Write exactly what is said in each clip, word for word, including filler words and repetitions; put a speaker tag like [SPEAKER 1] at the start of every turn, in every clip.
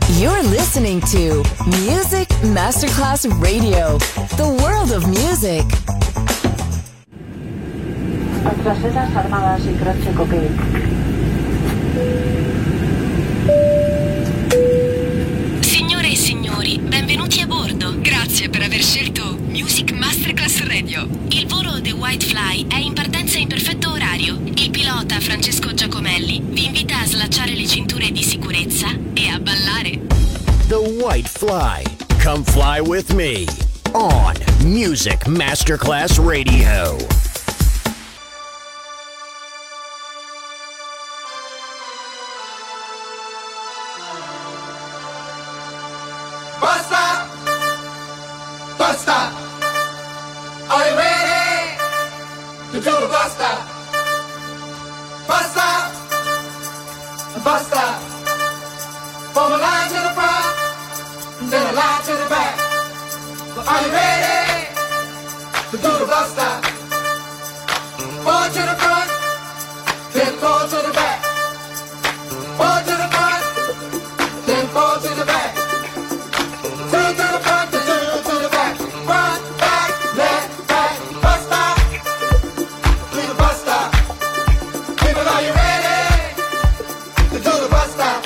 [SPEAKER 1] You're listening to Music Masterclass Radio, the world of music.
[SPEAKER 2] Nuestras sedas armadas y croce copé.
[SPEAKER 3] Signore e signori, benvenuti a bordo. Grazie per aver scelto Music Masterclass Radio. Il volo The White Fly è in partenza in perfetto orario. Il pilota Francesco Giacomelli vi invita a slacciare le cinture di sicurezza e a ballare.
[SPEAKER 4] The White Fly. Come fly with me on Music Masterclass Radio.
[SPEAKER 5] Basta! Basta! Are you ready to do the basta? Basta! Basta! From a line to the front, then a line to the back. Are you ready to do the basta? Four to the front, then four to the back. Four to the front, then four to the back. Two to the front, two to the back. Front, back, left, back. Basta, do the basta. People, are you ready to do the basta?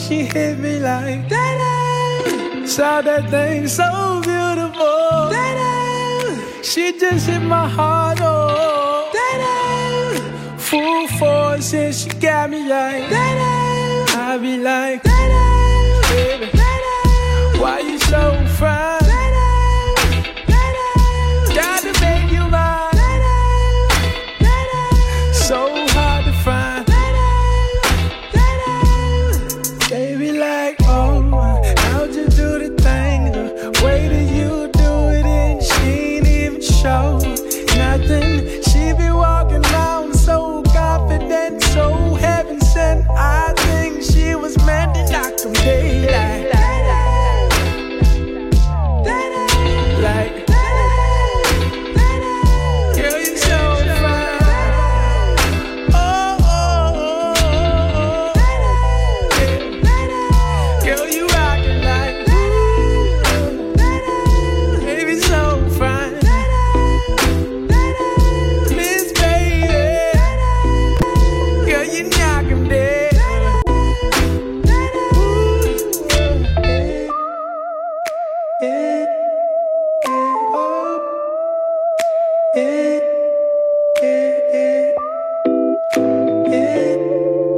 [SPEAKER 6] she hit me like that. Saw that thing so beautiful. That she just hit my heart, oh. That full force and she got me like that. I be like, baby, why you so fine? Got to make you mine. So hard to find. Baby, like, oh, how'd you do the thing? The way that you do it, and she ain't even show nothing. She be walking around so confident, so heaven sent. I think she was meant to knock them daylight. Like, girl, you so fine. Oh, oh, oh, oh, yeah. Girl, you rockin' like, ooh, baby, so fine. Miss Baby, girl, you knock 'em dead. Ooh, yeah, yeah, oh, yeah, yeah, yeah,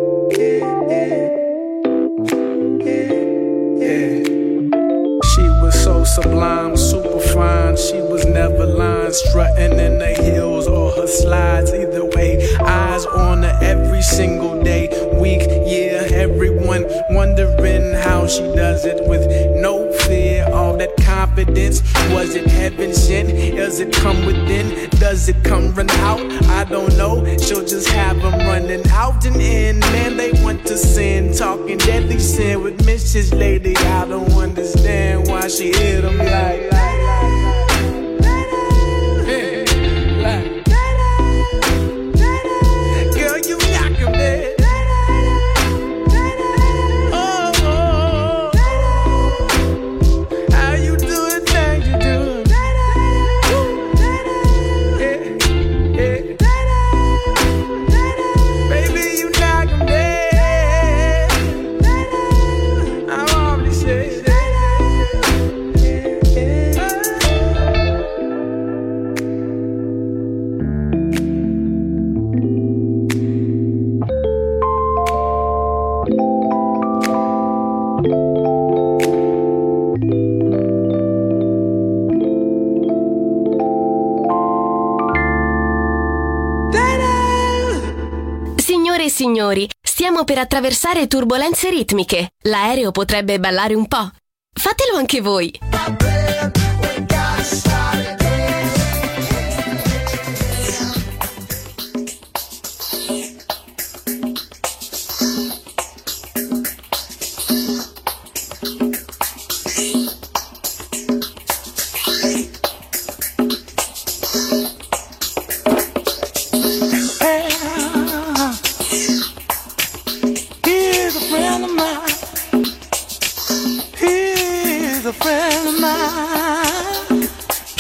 [SPEAKER 6] yeah, yeah, yeah. She was so sublime, super fine. She was never lying, strutting in the heels or her slides. Either way, eyes on her every single day, week, year. Everyone wondering how she does it with no fear. All that confidence, was it heaven sent? Does it come within? Does it come run out? I don't know. She'll just have them running out and in. Man, they want to sin, talking deadly sin with Missus Lady. I don't understand why she hit them like, like, yeah, like. Girl, you knock 'em dead. Oh, oh, oh. How you do the things you do? Yeah, yeah. Baby, you knock 'em dead. I'm already saying that.
[SPEAKER 3] Signore e signori, stiamo per attraversare turbolenze ritmiche. L'aereo potrebbe ballare un po'. Fatelo anche voi.
[SPEAKER 6] Here's a friend of mine. Here's a friend of mine.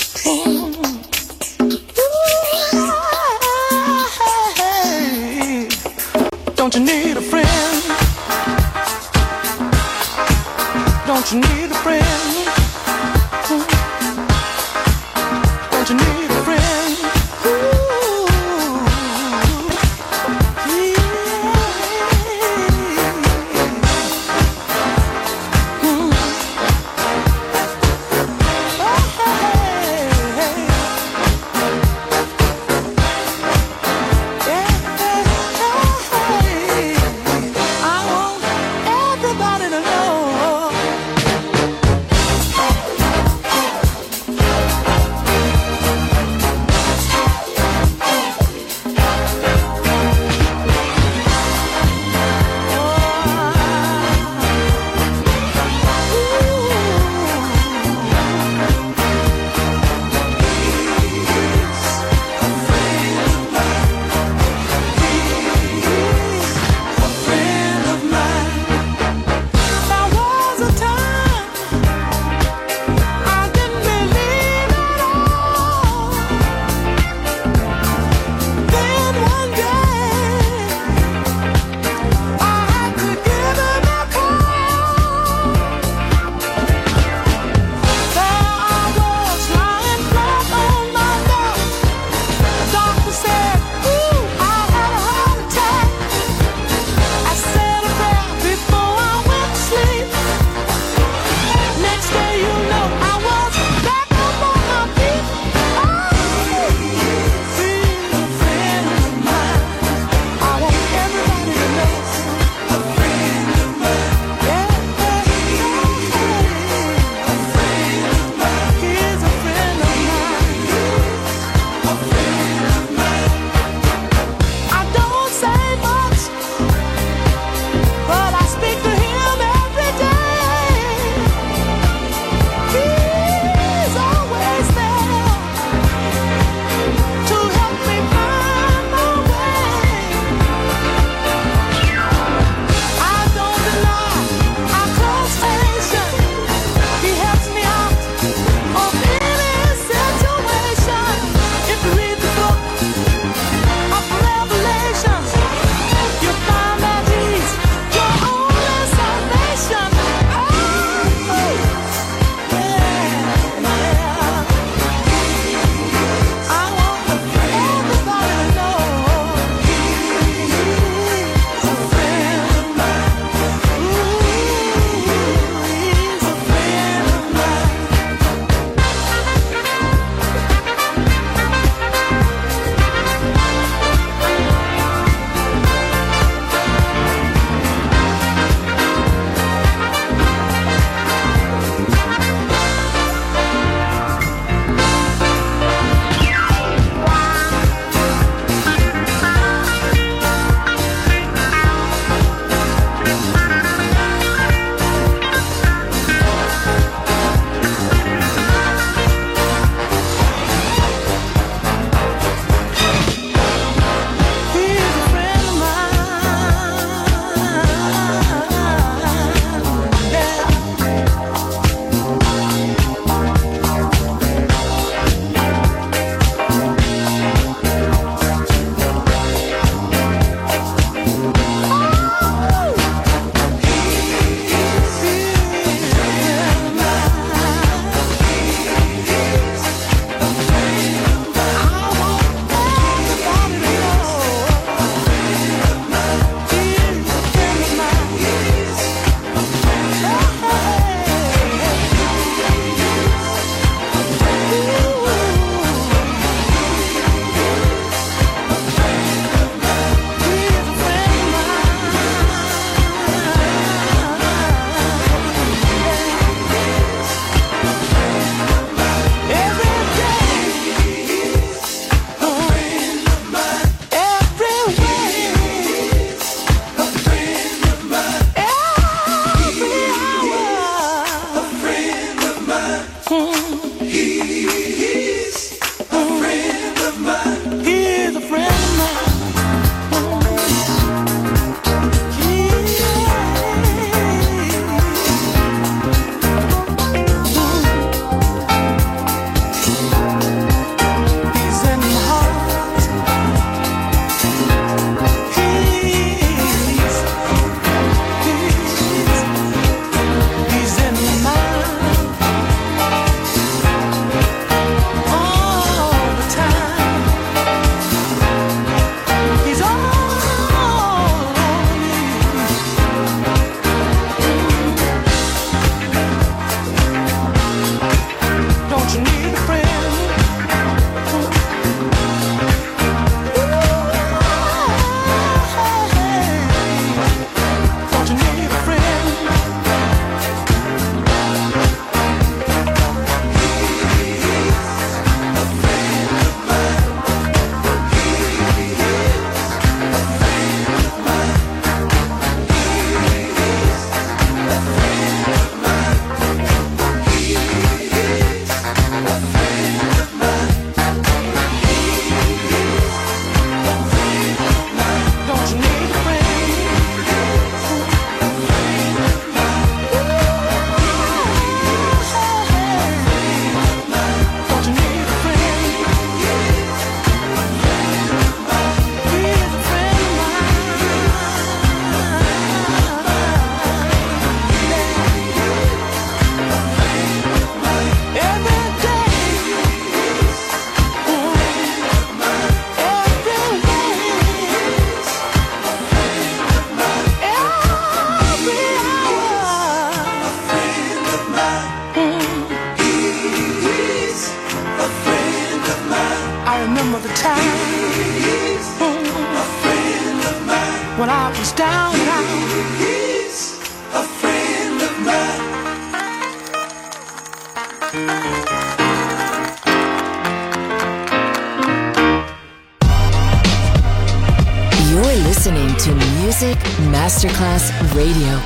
[SPEAKER 6] of the time.
[SPEAKER 5] He's a friend of mine.
[SPEAKER 6] When I was down and out.
[SPEAKER 5] He's a friend of mine.
[SPEAKER 1] You're listening to Music Masterclass Radio.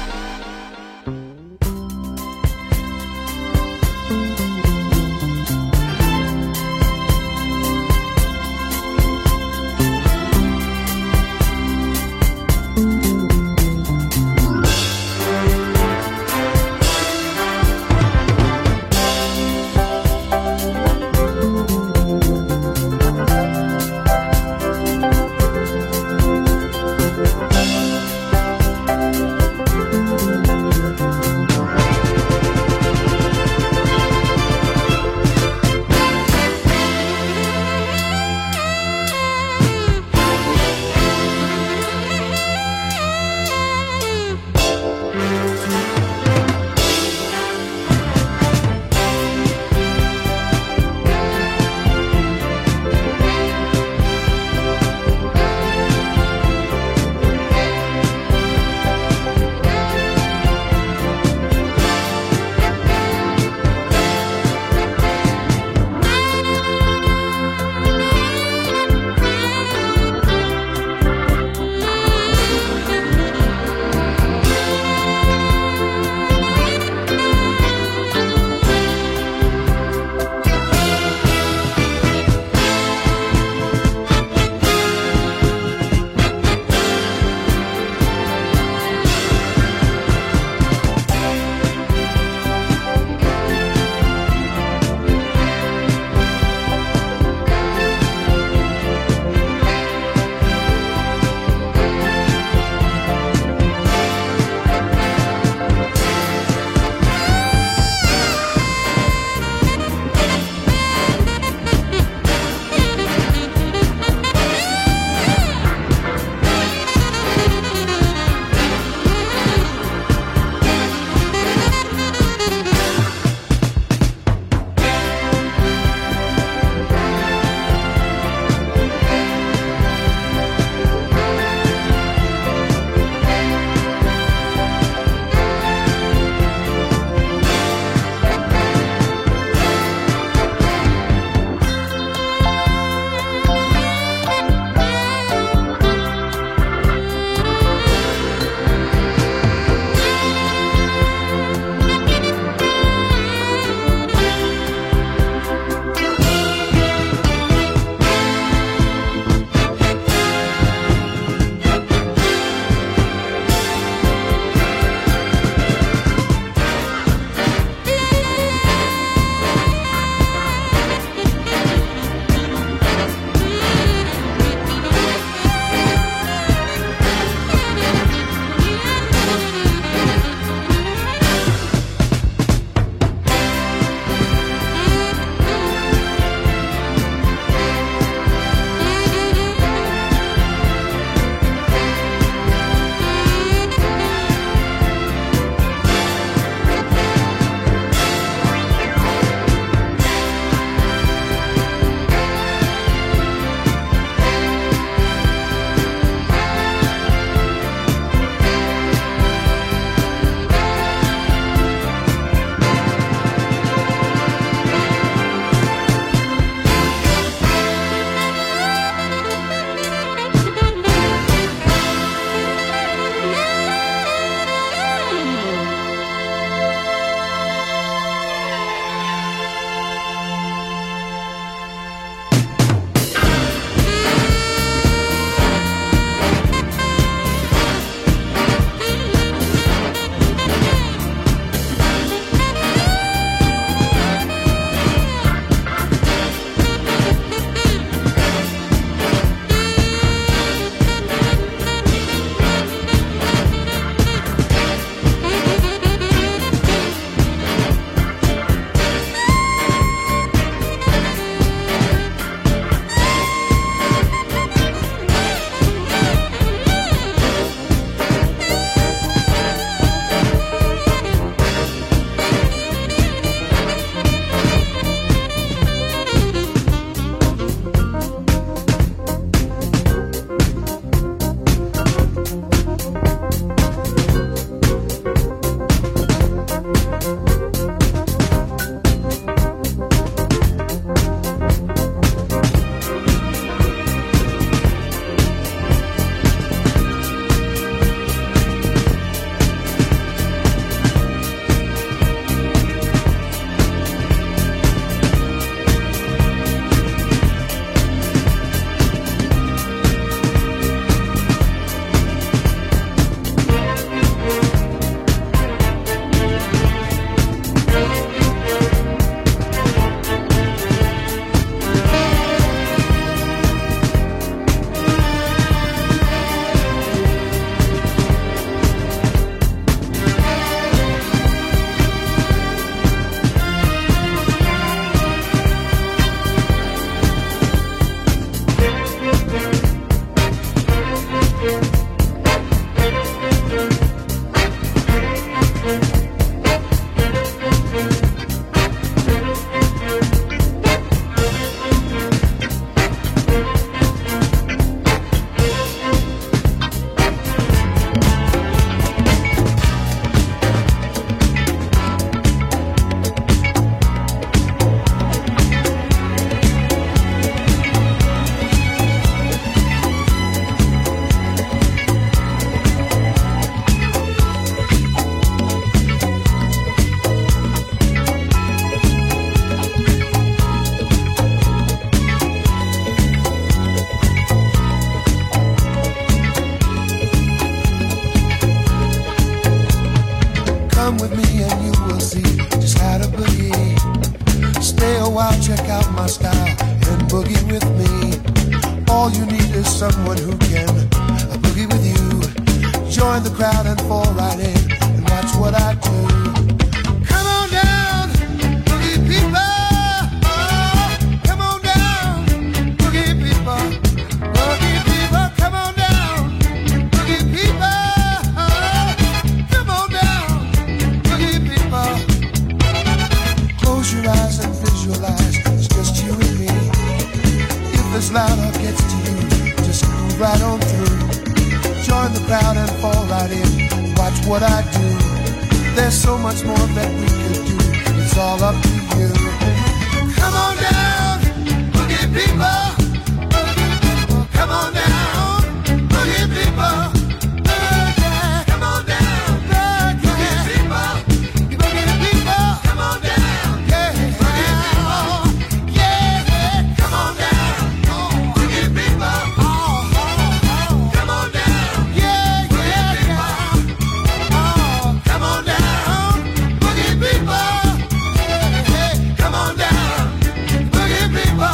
[SPEAKER 7] out my style and boogie with me. All you need is someone who can boogie with you. Join the crowd and fall right in and watch what I do. Come on down, boogie people. Oh, come on down, boogie people. Boogie people, come on down, boogie people. Oh, come on down, boogie people. Close your eyes and visualize it's just you and me. If this loud up gets to you, just move right on through. Join the crowd and fall right in. Watch what I do. There's so much more that we could do. It's all up to you. Come on down, boogie people. Boogie people. Come on down, boogie people. Boogie. Come on down, boogie people. Boogie people. Come on down, yeah. Boogie people. Yeah, come on down, boogie people. Oh, oh, oh. Come on down. Yeah, yeah, yeah. Oh, come on down, boogie people. Hey, hey, come on down, boogie people.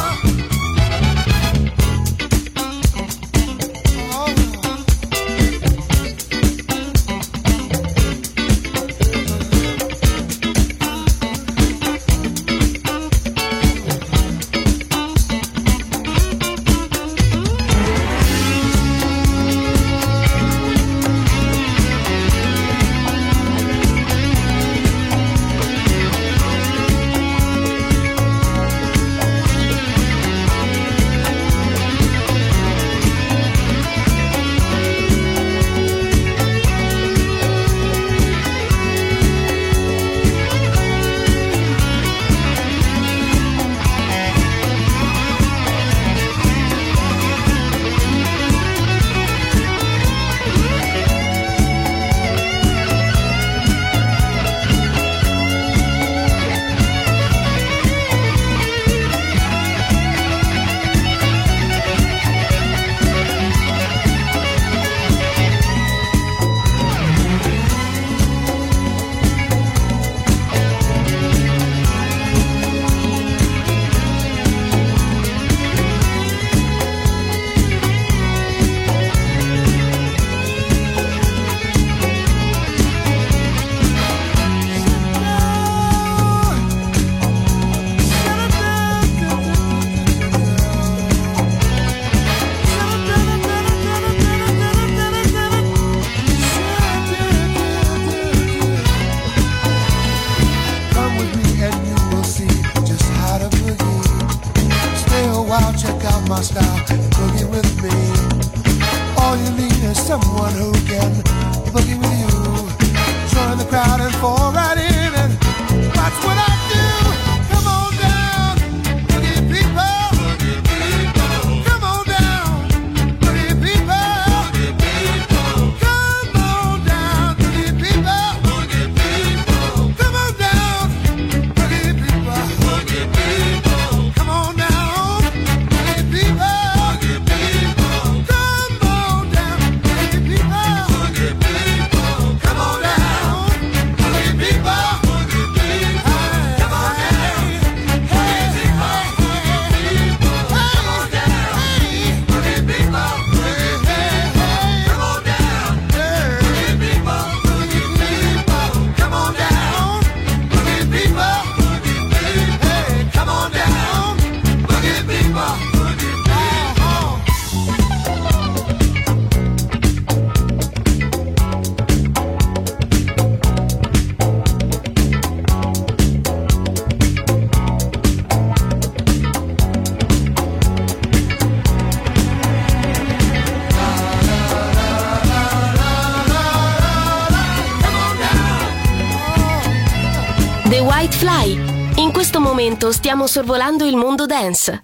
[SPEAKER 7] Oh. Come with me and you will see just how to boogie. Stay a while, check out my style and boogie with me. All you need is someone who can boogie with you. Join the crowd and fall right in and watch what I do. Come on down, boogie people. Boogie people. Come on down, boogie people. Boogie people. Come on down, boogie people. Boogie people. Come on down, boogie people. Boogie people. Come on down, boogie people. Boogie people. Come on down, boogie people. Boogie people. Come on down, boogie people. Boogie people. Come on down, hey, hey, hey, people. Come on down, boogie people. Hey, hey, hey, come on down, boogie people. Boogie people. Come on down, boogie people. Boogie people. Hey, come on down, boogie people. Boogie people.
[SPEAKER 3] The White Fly. In questo momento stiamo sorvolando il mondo dance.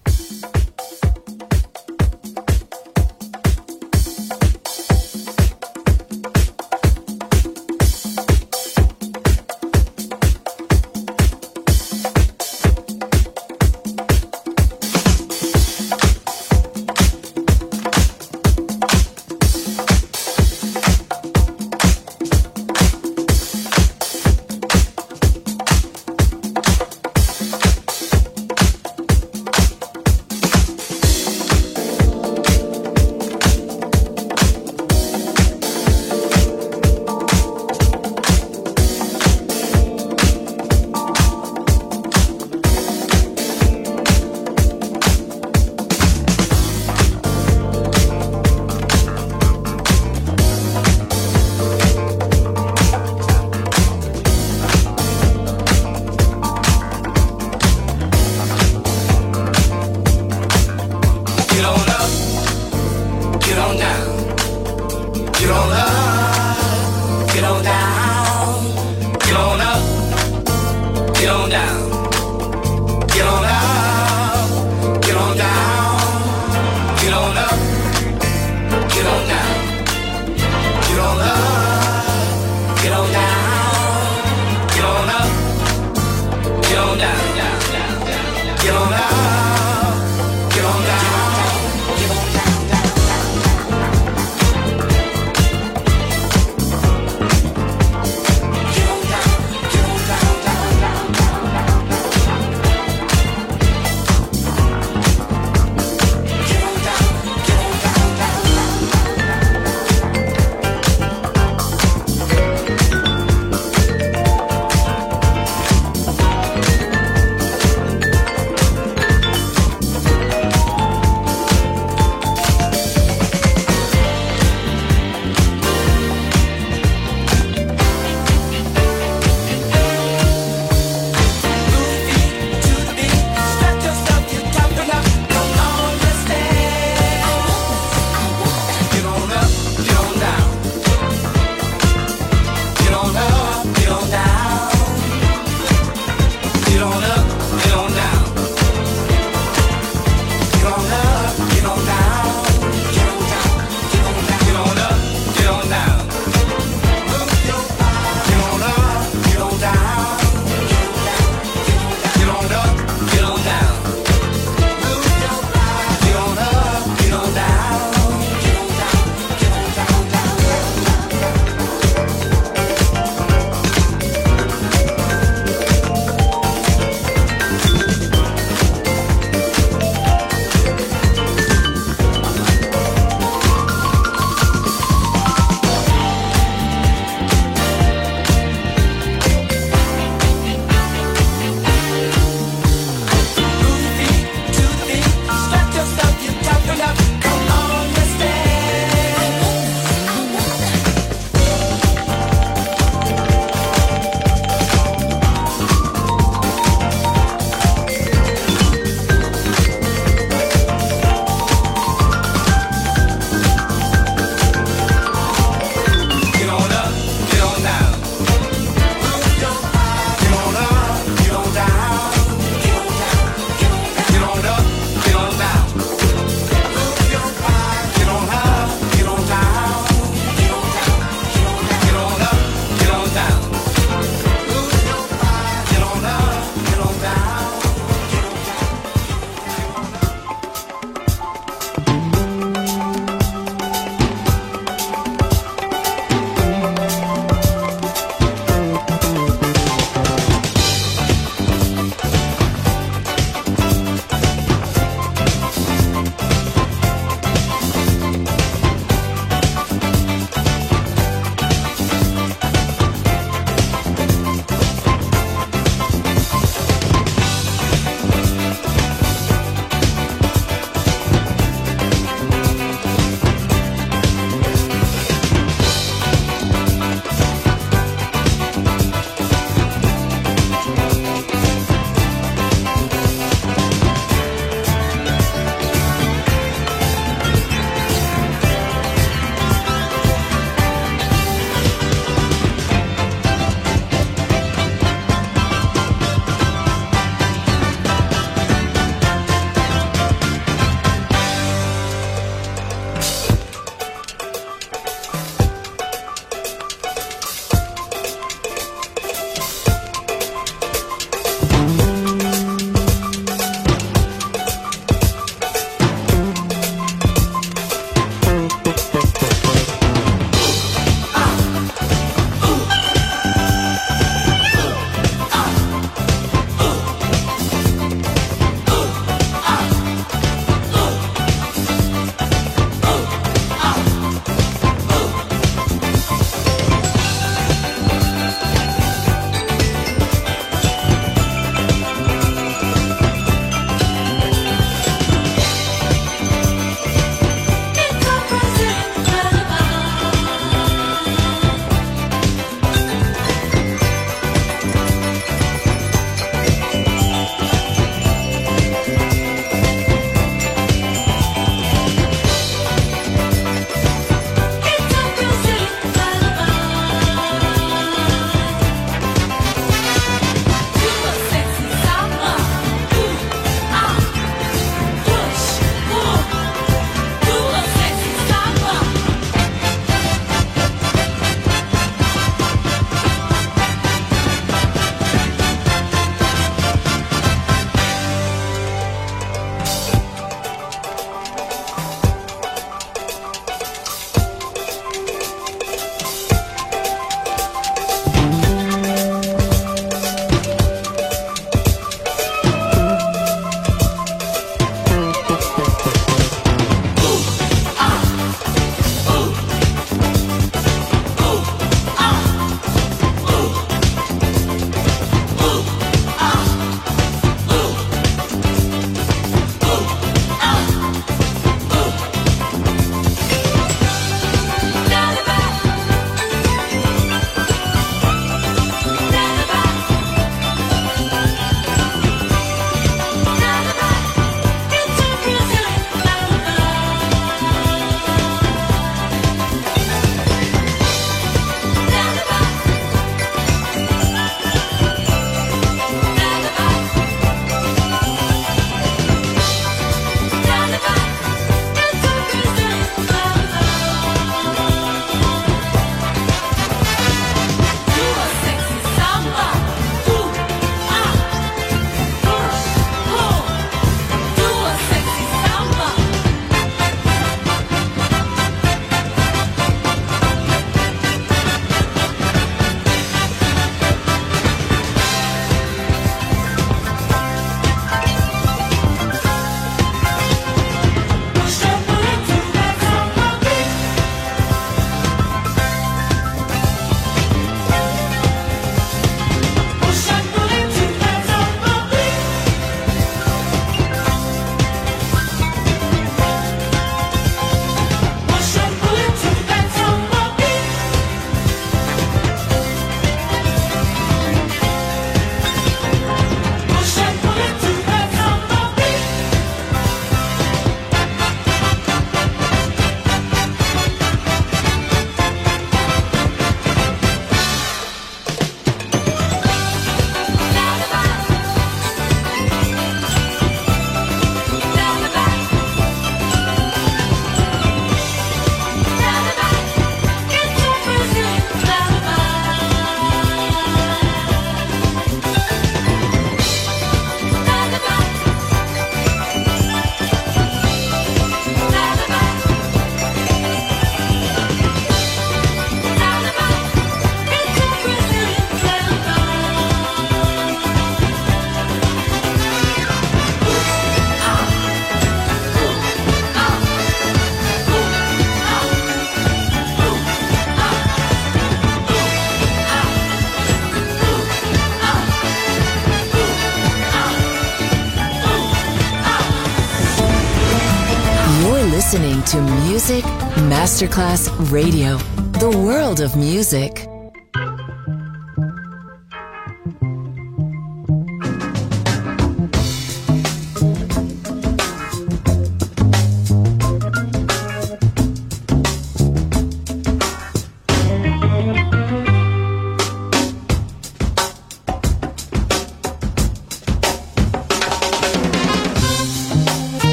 [SPEAKER 1] listening to Music Masterclass Radio, the world of music.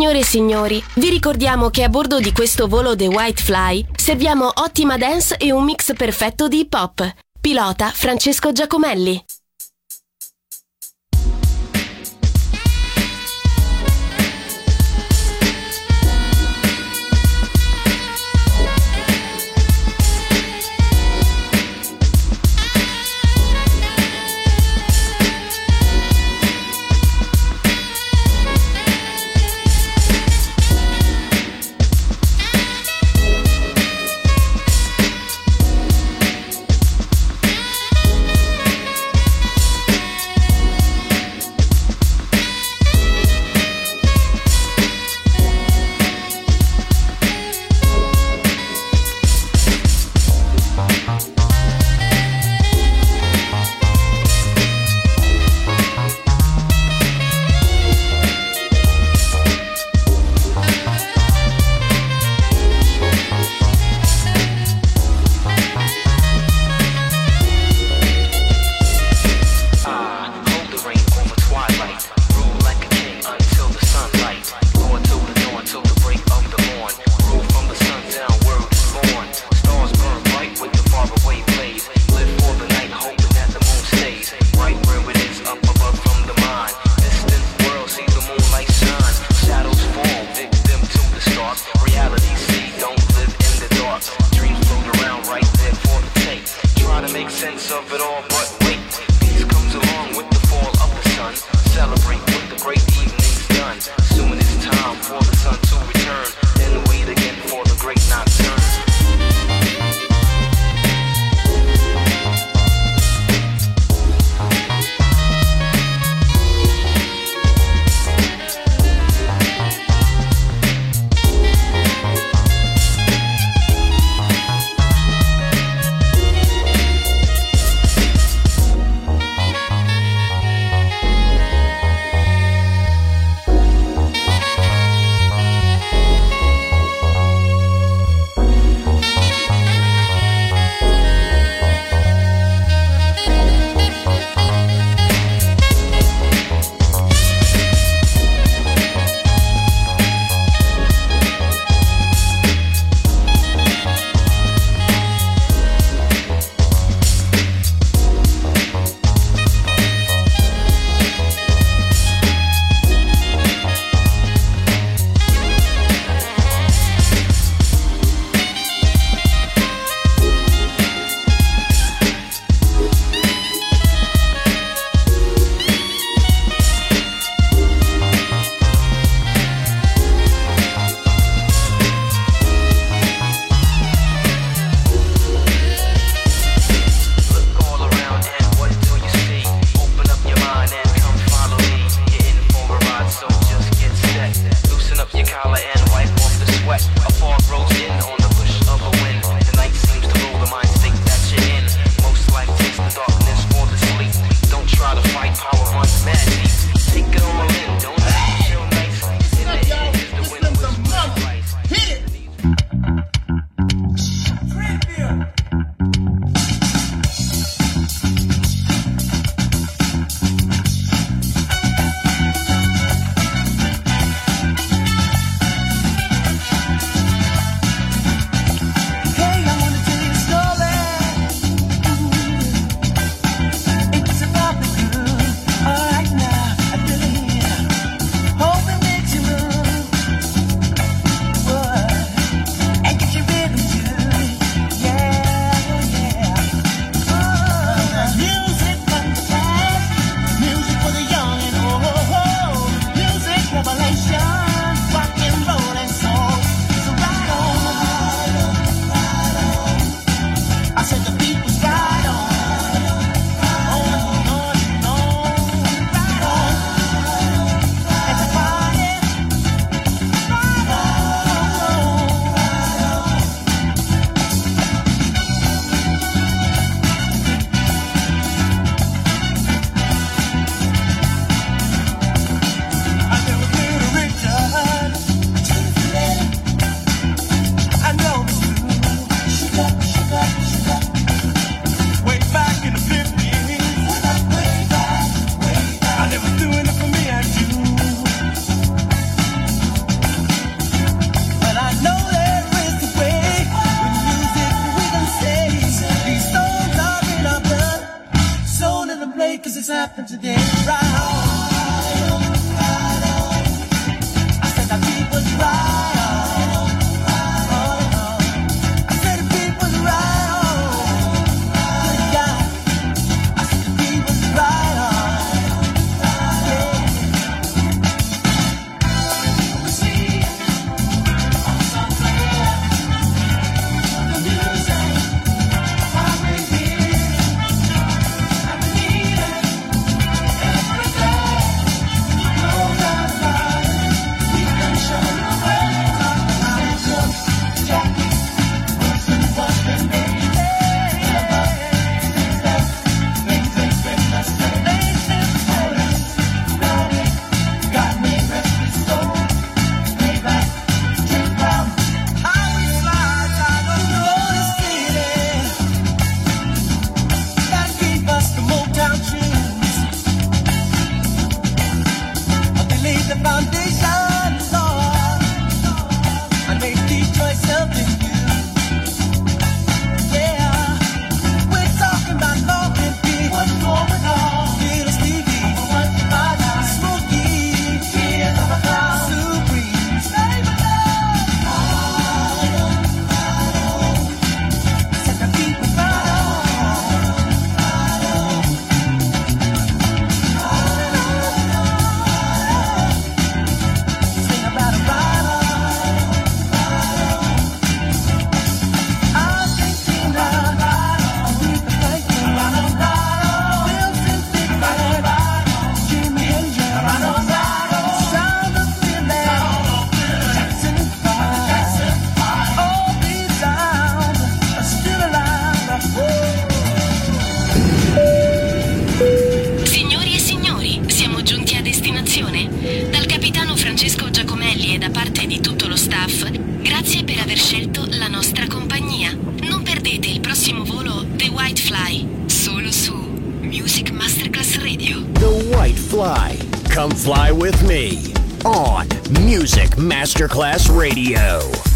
[SPEAKER 3] Signore e signori, vi ricordiamo che a bordo di questo volo The White Fly serviamo ottima dance e un mix perfetto di hip hop. Pilota Francesco Giacomelli.
[SPEAKER 8] things happen today. Right on, right on. I said the people's right on, right on. I said the people's right on, right on. I said the people's right on, yeah. We see on some clear the music, why we here. I believe it every day. No doubt about it. We can show you where Jackie wasn't what they made. Never left. Things ain't been the same. Got it, got me restless soul. Payback, take down. How we slide out of the city. That gave us the Motown tunes. They laid the foundation, Lord, and made Detroit something new. Yeah, we're talking about Law and Beat. What's going on? Little Stevie, what's about us? Smokey, tears of a clown. Supreme, save it up. Set the people right on. Sing about a ride on. Argentina, Aretha Franklin, Wilson Pickett, Jimi Hendrix, Sound of Philly, Jackson Five. All these sounds are still alive.
[SPEAKER 3] Signori e signori, siamo giunti a destinazione. Dal capitano Francesco Giacomelli e da parte di tutto lo staff, grazie per aver scelto la nostra compagnia. Non perdete il prossimo volo The White Fly, solo su Music Masterclass Radio.
[SPEAKER 4] The White Fly. Come fly with me on Music Masterclass Radio.